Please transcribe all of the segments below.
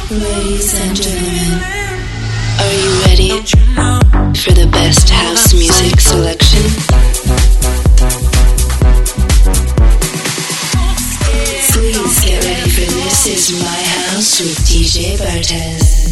Ladies and gentlemen, are you ready for the best house music selection? Please get ready for This Is My House with DJ Bartez.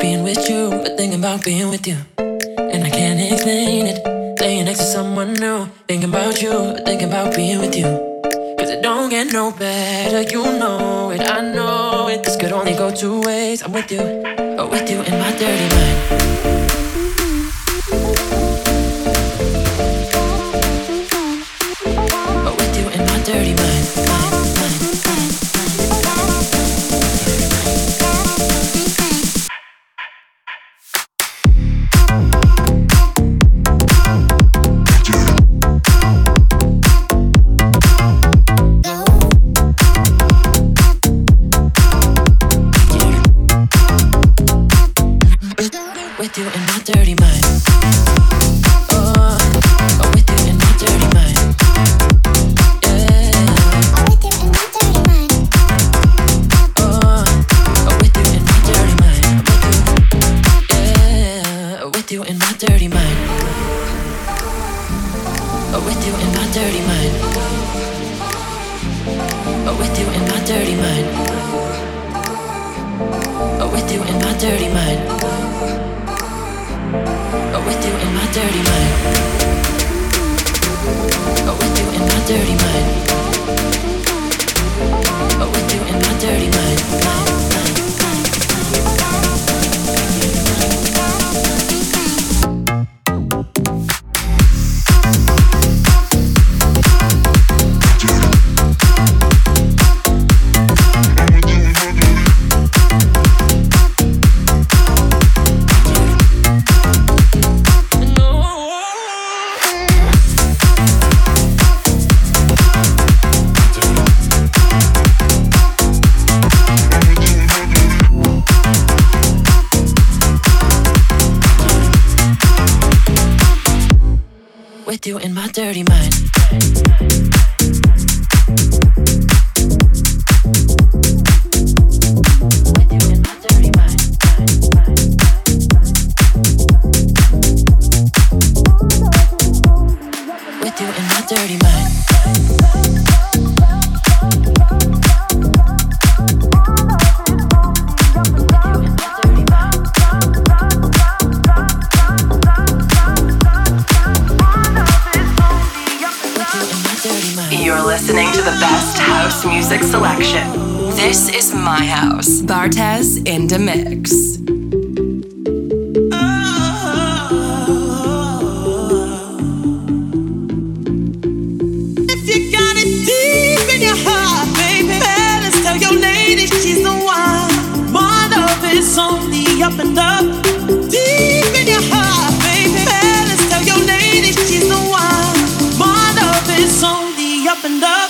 being with you, but thinking about being with you. And I can't explain it. Laying next to someone new, thinking about you, but thinking about being with you. Cause it don't get no better, you know it, I know it. This could only go two ways. I'm with you, or with you in my dirty mind. Or with you in my dirty mind. With you in my dirty mind. Oh, with you in my dirty mind. Yeah. With you in my dirty mind. Oh, with you in my dirty mind. Yeah. With you in my dirty mind. With you in my dirty mind. With you in my dirty mind. With you in my dirty mind. With you in my dirty mind. With you in my dirty mind. With you in my dirty mind. With you in my dirty mind. With you in my dirty mind. With you in my dirty mind. You're listening to the best house music selection. This is my house. Bartez in the mix. If you got it deep in your heart, baby, fellas, tell your lady she's the one. My love is only up and up. Deep in your heart, baby, fellas, tell your lady she's the one. My love is only up and up.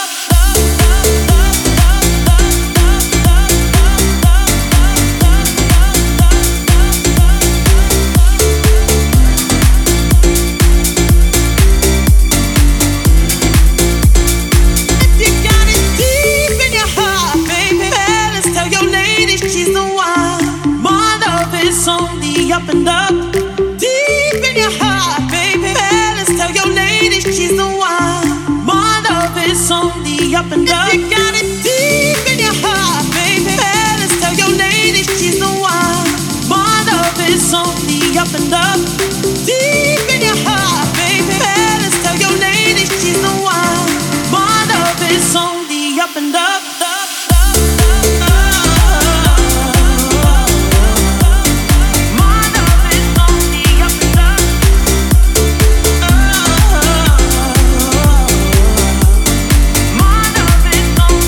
Up and up, deep in your heart, baby. Fellas, tell your lady she's the one. My love is only up and up. If you got it deep in your heart, baby. Fellas, tell your lady she's the one. My love is only up and up, deep in your heart, baby. Fellas, tell your lady she's the one. My love is only up and up. With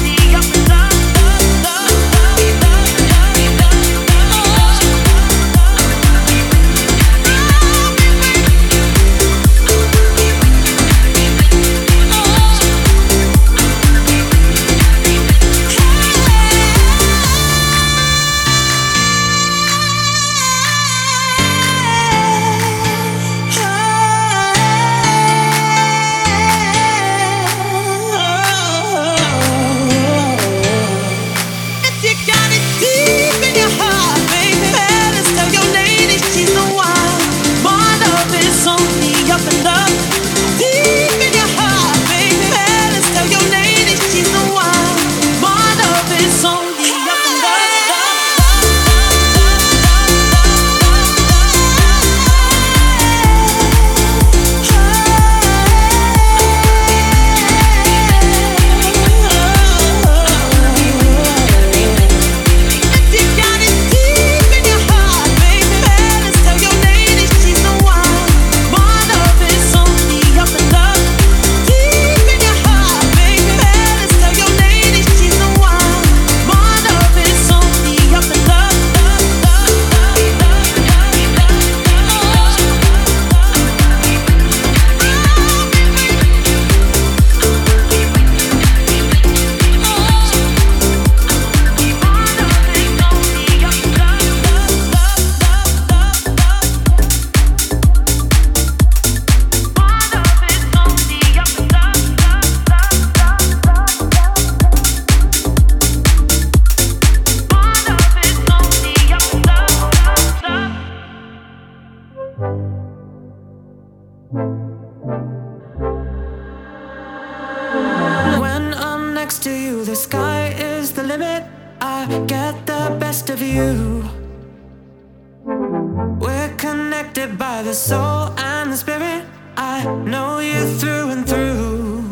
by the soul and the spirit. I know you through and through.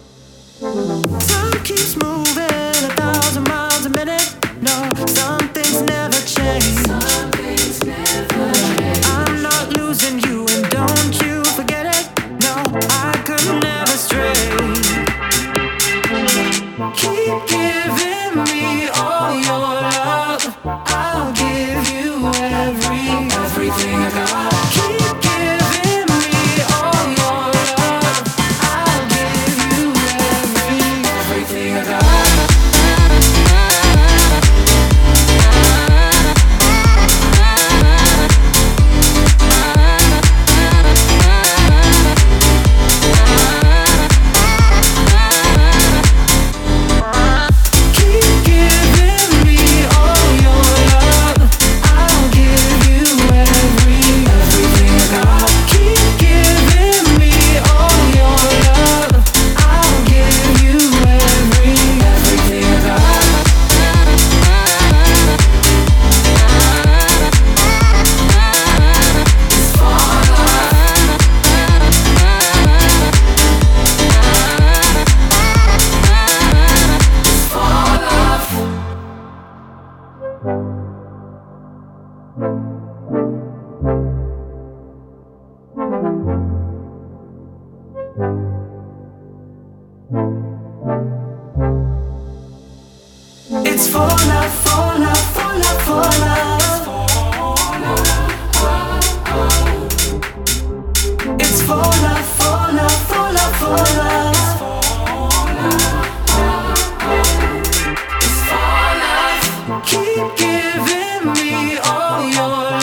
Time keeps moving 1,000 miles a minute. No, some things never change. I'm not losing you, and don't you forget it. No, I could never stray. Keep giving me all your love. I'll give you everything I got. Keep giving me all your love. I'll give you everything I got. It's for love, for love, for love, for love. It's for love, for love, for love, for love. It's for love. Keep giving me all your love.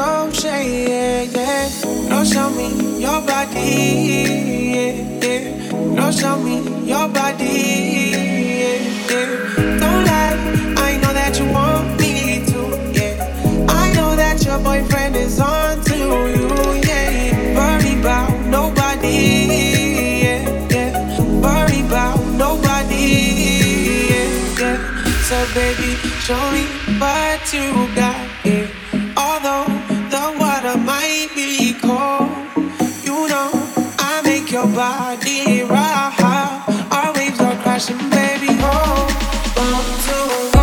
no shade, yeah. No, show me your body, yeah, yeah. No, show me your body, yeah, yeah. Don't lie, I know that you want me to, yeah. I know that your boyfriend is on to you, yeah. Worry about nobody, yeah, yeah. Worry about nobody, yeah, yeah. So baby, show me what you got, yeah. Although the water might be cold, you know I make your body rock. Our waves are crashing, baby. Hold on to me.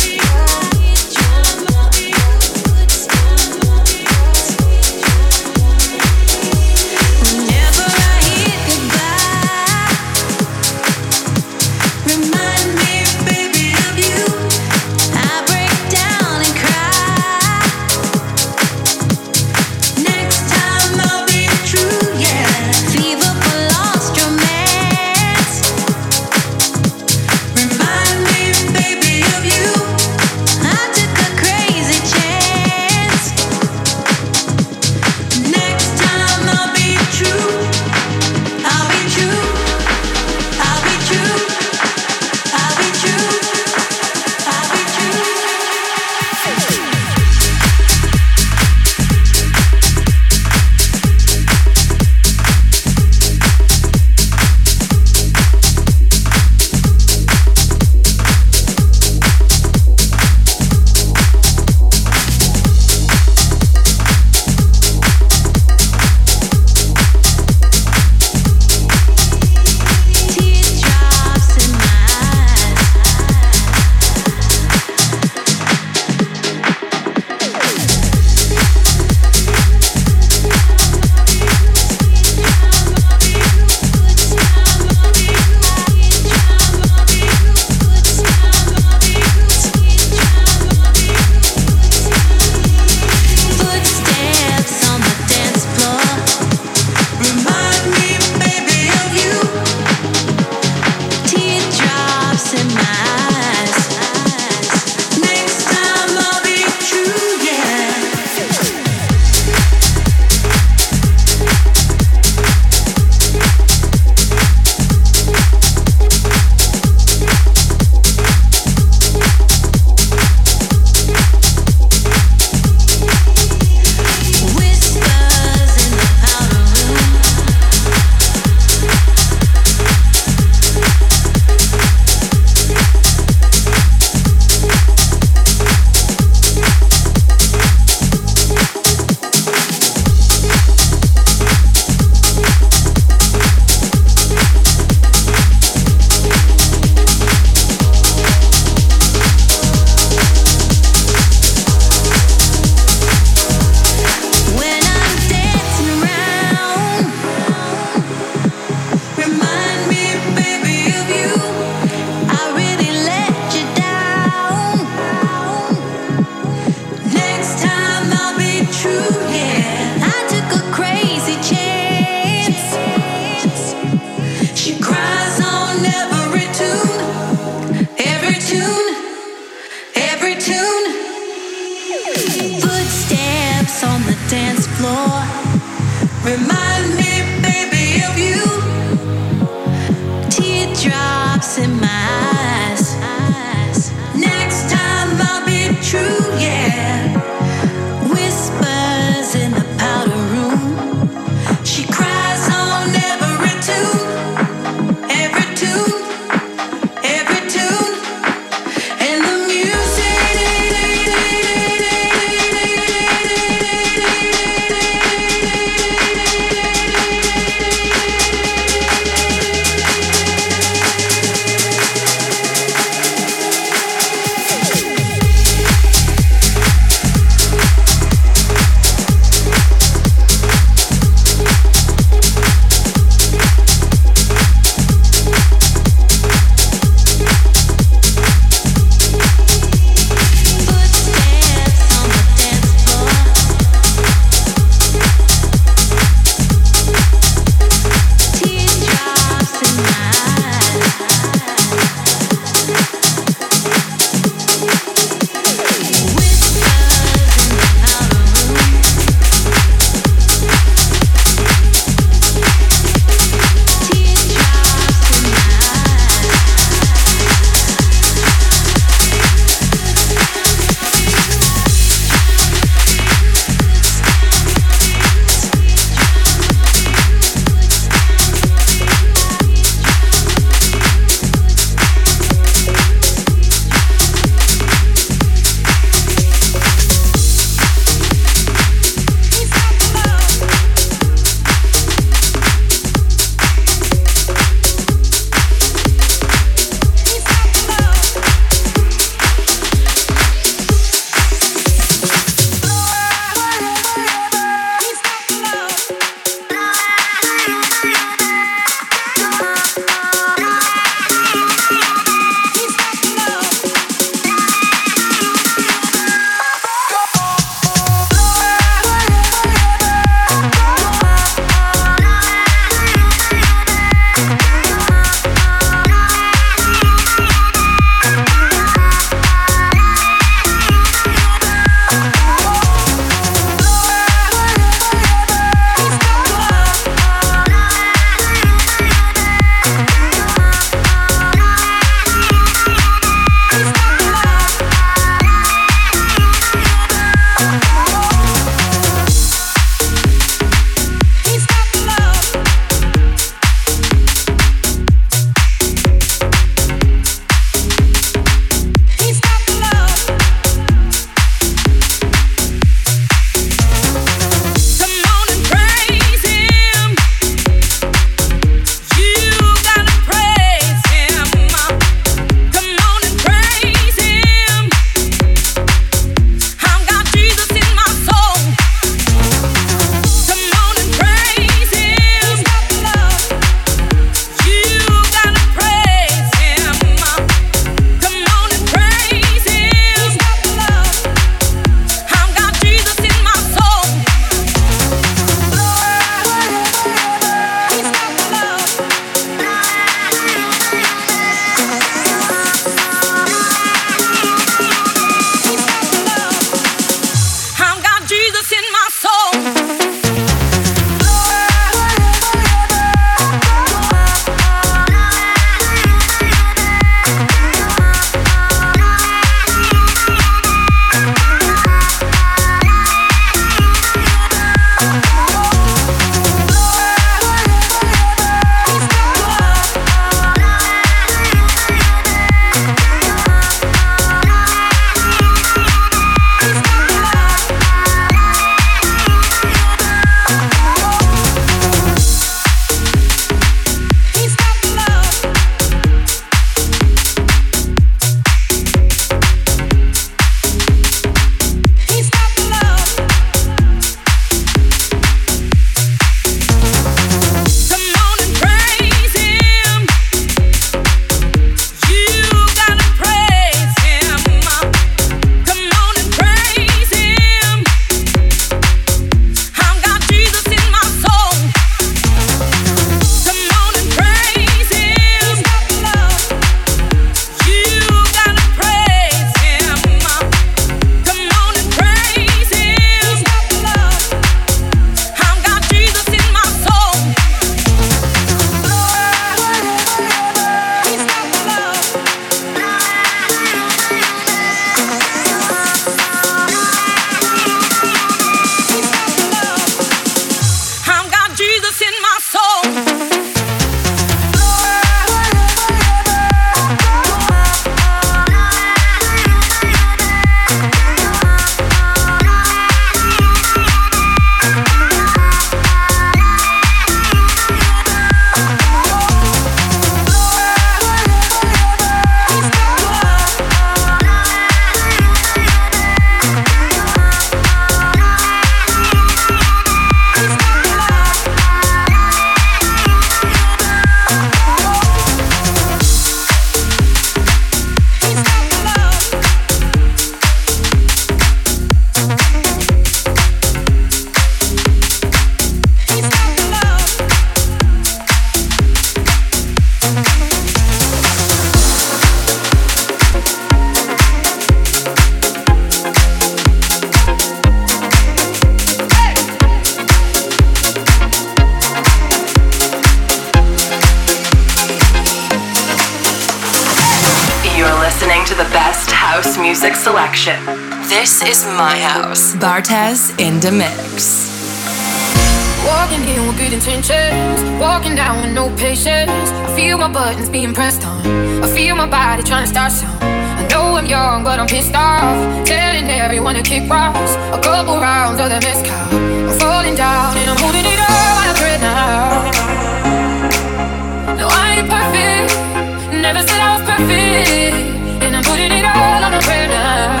house music selection. This is my house. Bartez in the mix. Walking in with good intentions, walking down with no patience. I feel my buttons being pressed on, I feel my body trying to start some. I know I'm young, but I'm pissed off, telling everyone to kick rocks. A couple rounds of the mezcal, I'm falling down and I'm holding it all out right now. No, I ain't perfect, never said I was perfect, and I'm putting it all on the prayer now.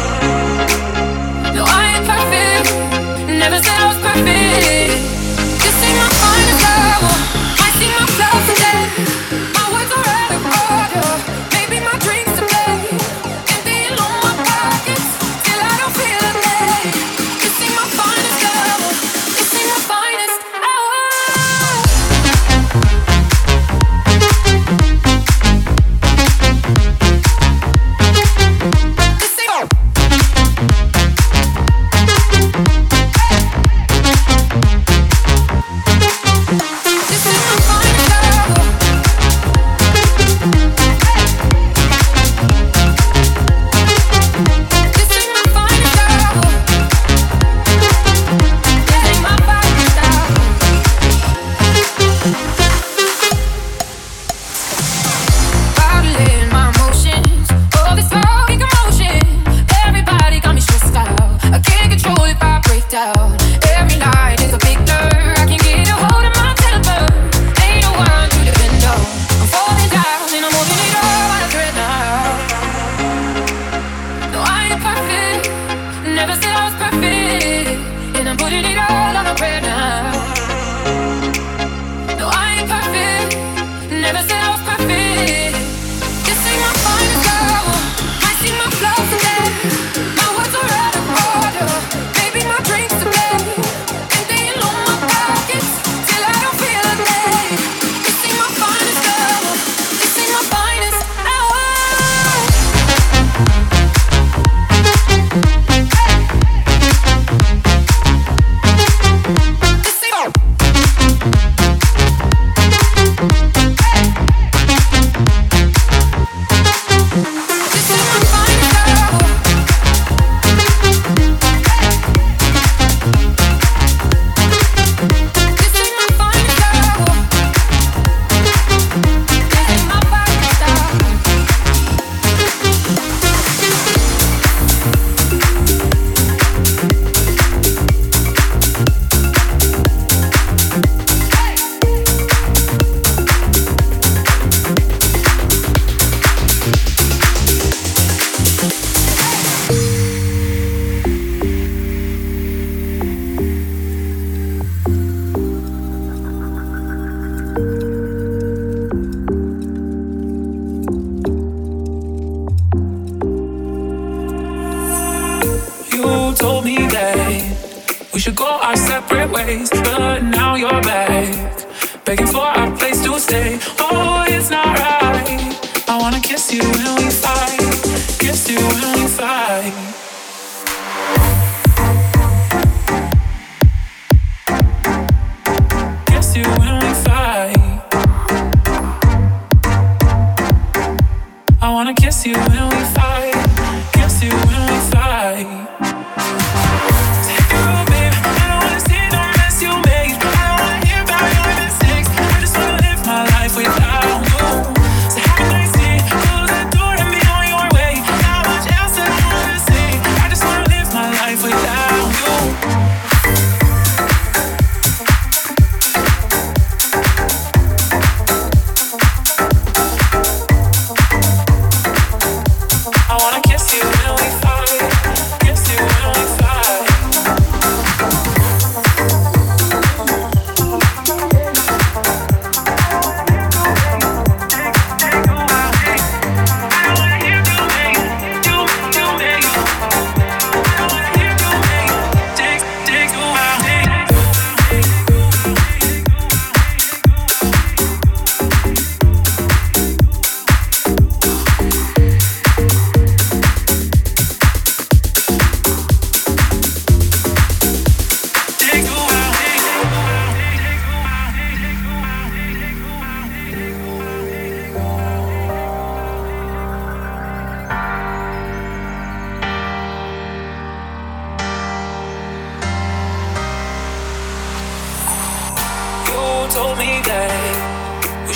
No, I ain't perfect, never said I was perfect. This ain't my finest hour, I see my flaws today. My words are out of order, maybe my dreams today. Emptying all my pockets, till I don't feel a thing. This ain't my finest hour, this ain't my finest hour.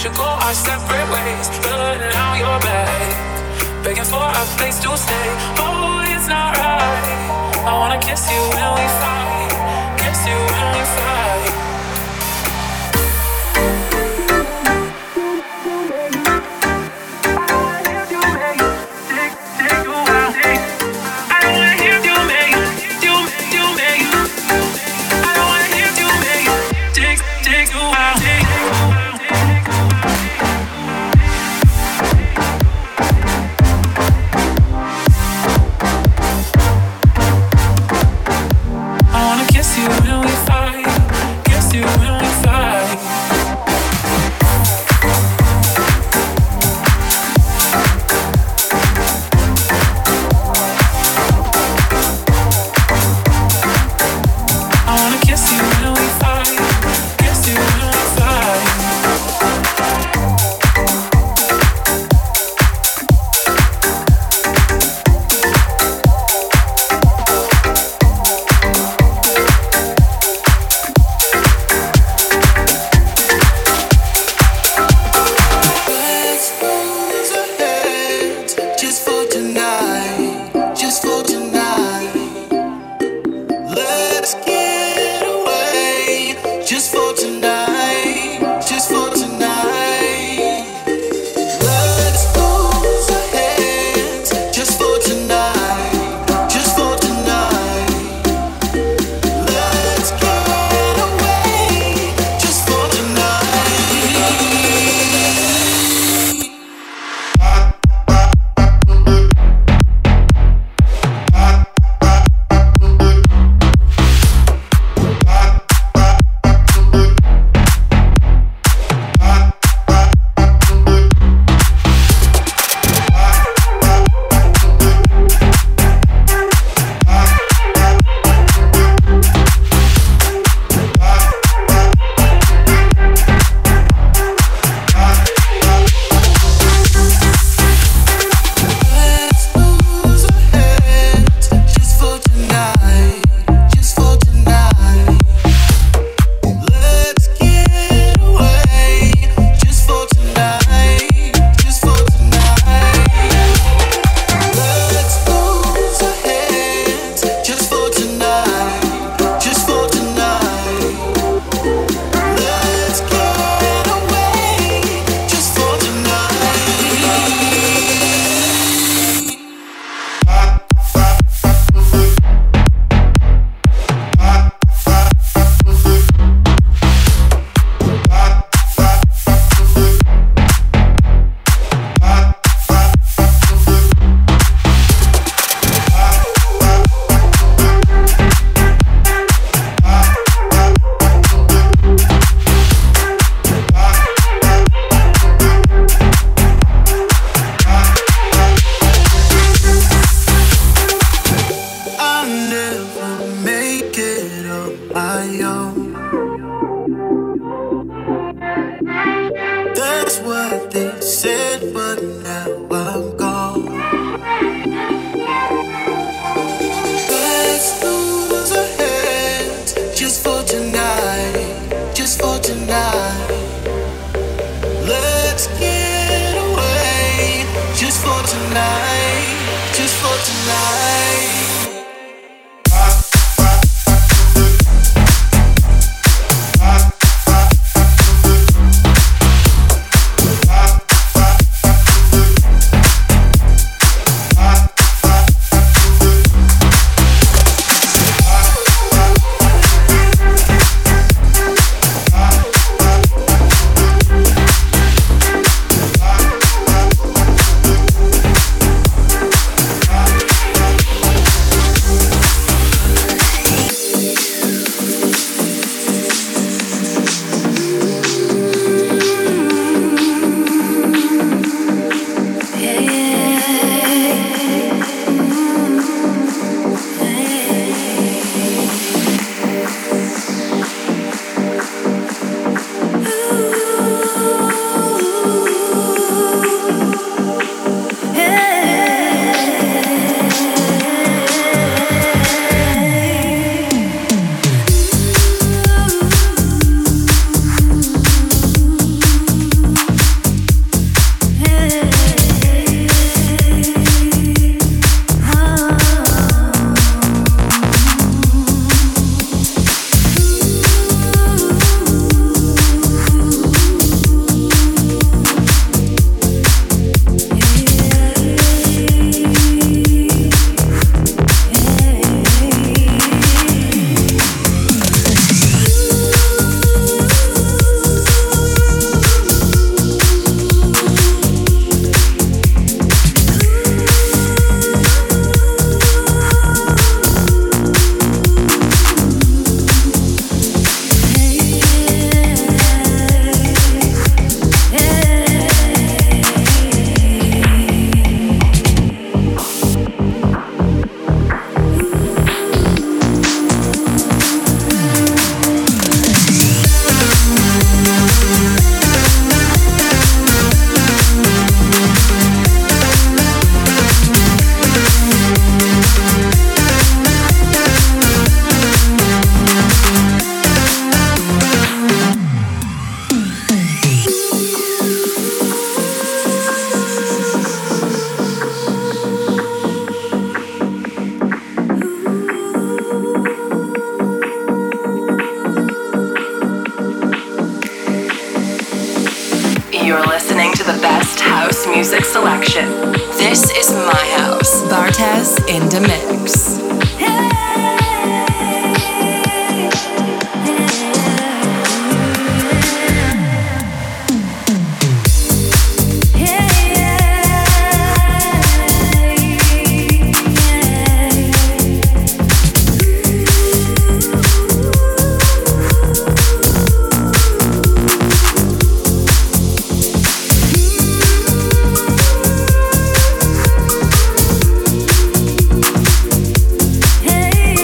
should go our separate ways. Burning out your bag, begging for a place to stay. Oh, it's not right. I wanna kiss you when we fight, kiss you when we fight. You're listening to the best house music selection. This is my house. Bartez in the mix. Hey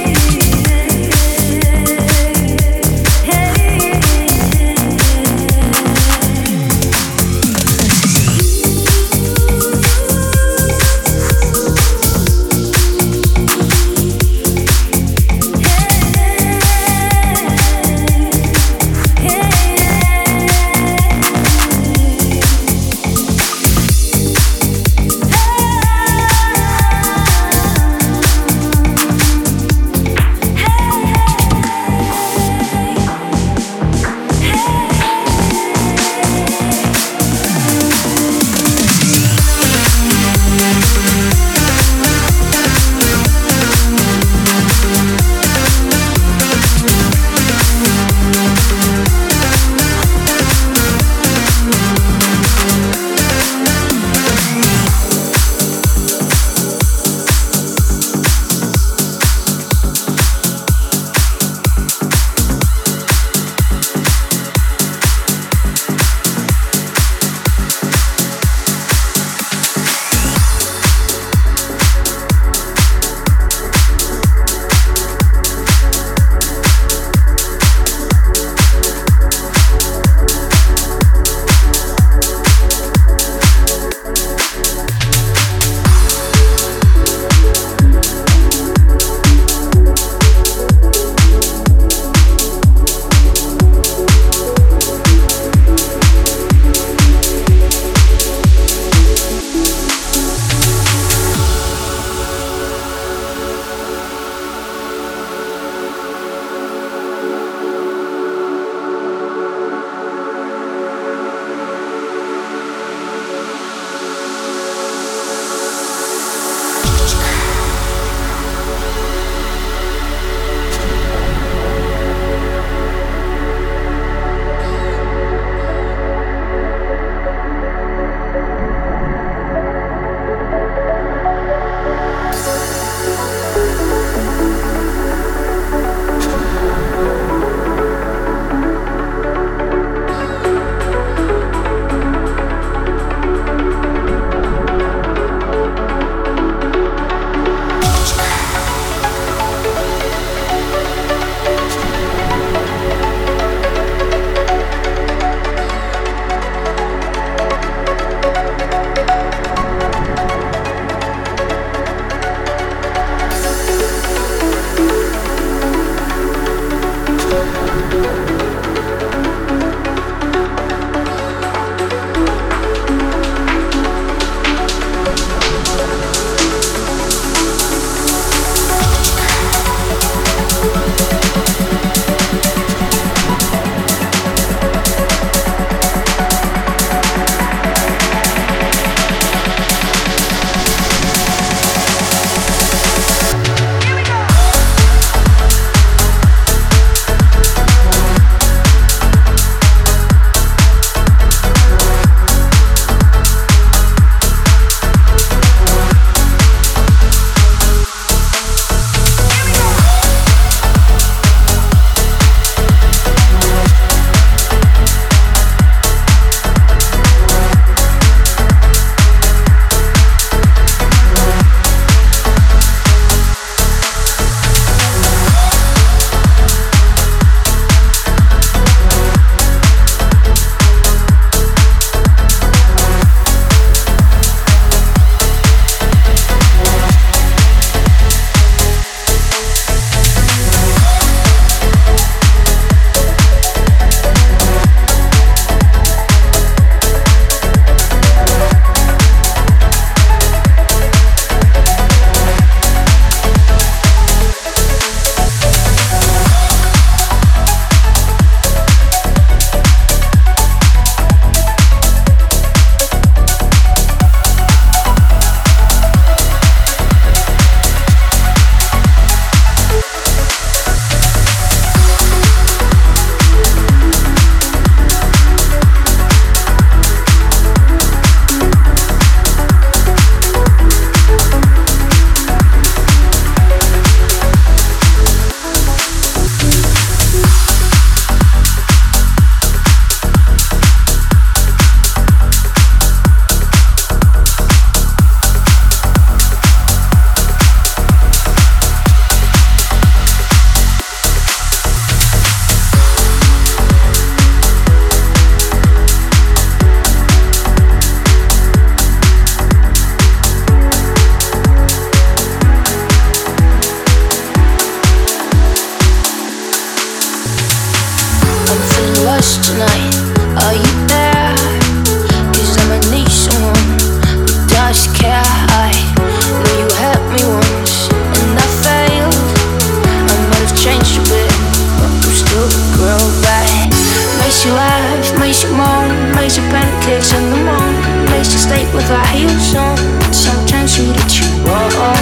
makes you pancakes in the morning, makes you stay with our heels on. Sometimes we let you wrong.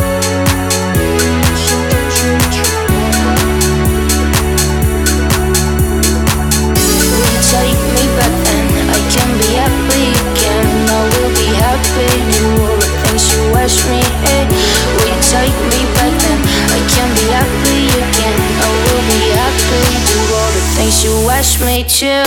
Take me back then, I can be happy again. I will be happy, do all the things you ask me. Hey, will you take me back then? I can be happy again. I will be happy, do all the things you ask me to.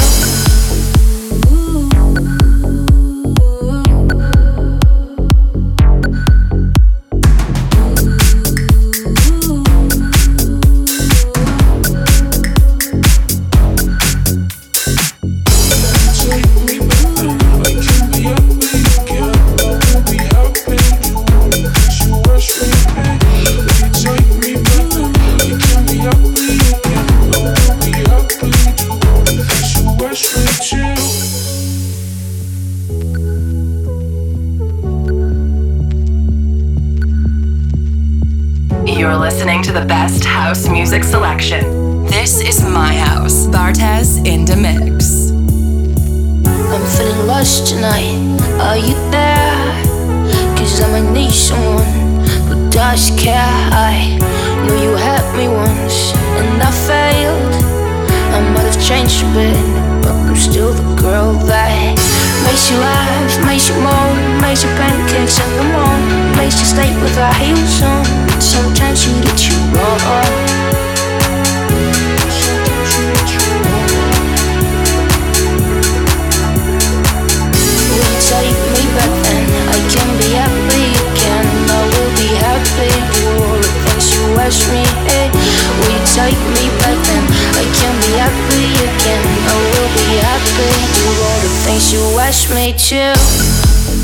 You're listening to the best house music selection. This is my house. Bartez in the mix. I'm feeling lost tonight. Are you there? Cause I might need someone who does care. I know you helped me once and I failed. I might have changed a bit, but I'm still the girl that makes you laugh, makes you moan, makes you pancakes in the morning, makes you stay with our heels on. Sometimes we let you wrong. Take me back then, I can be happy again. I will be happy, do all the things you ask me. Hey, will you take me back then? I can be happy again. I will be happy, do all the things you ask me to.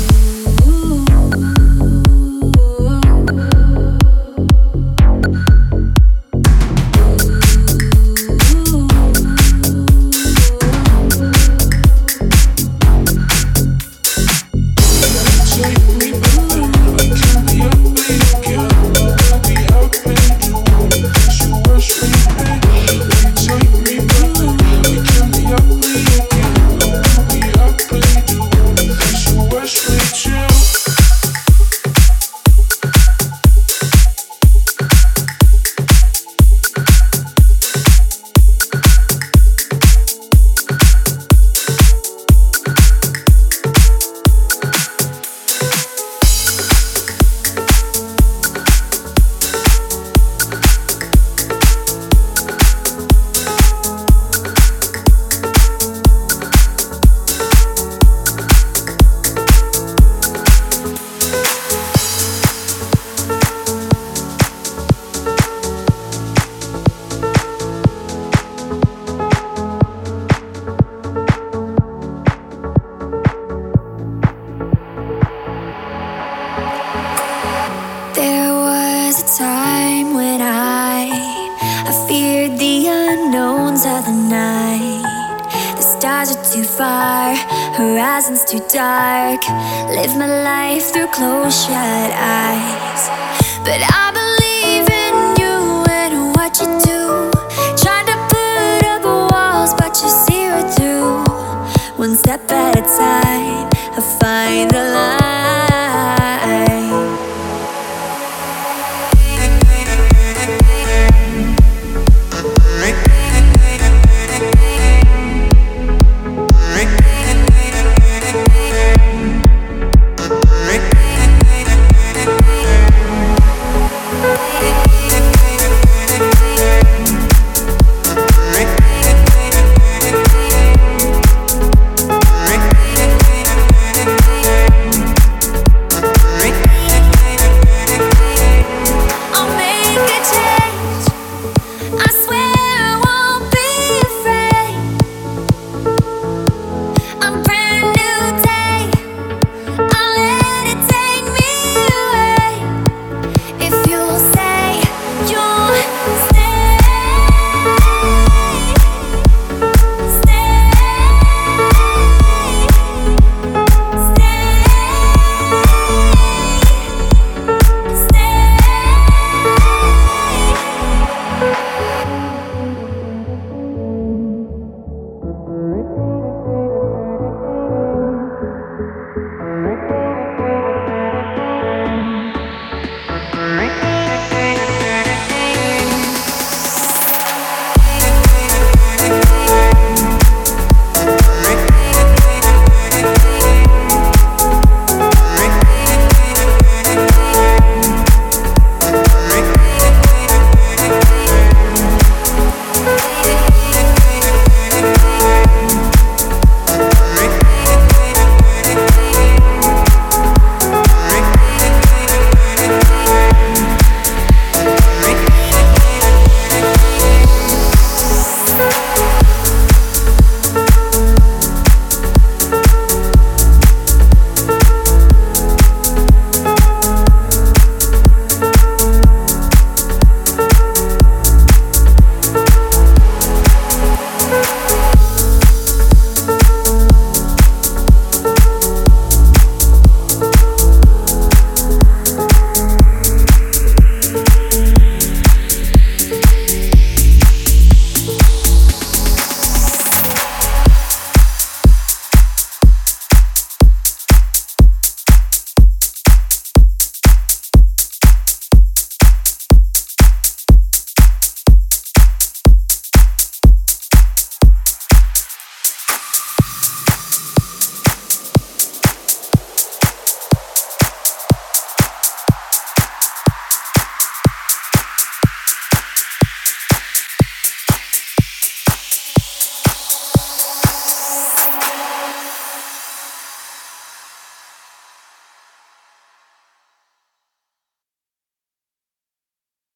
Horizons too dark. Live my life through closed shut eyes. But I believe in you and what you do. Trying to put up walls, but you see right through. One step at a time, I find the line.